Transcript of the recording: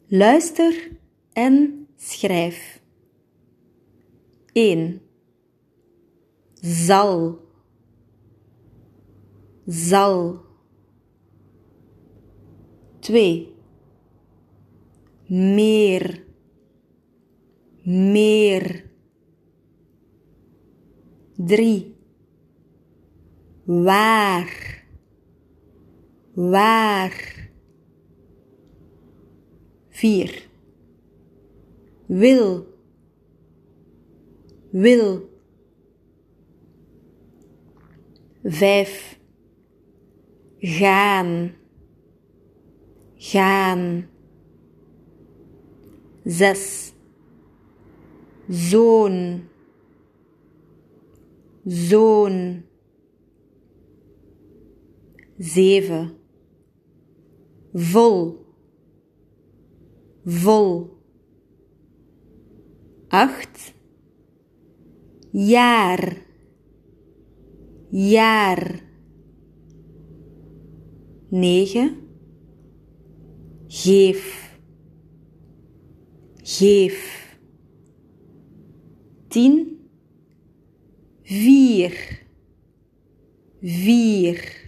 Luister en schrijf. 1. Zal. Zal. 2. Meer. Meer. 3. Waar. Waar. 4. Wil. Wil. 5. Gaan. Gaan. 6. Zoon. Zoon. 7. Vol. Vol. 8. Jaar. Jaar. 9. Geef. Geef. 10. Vier. Vier.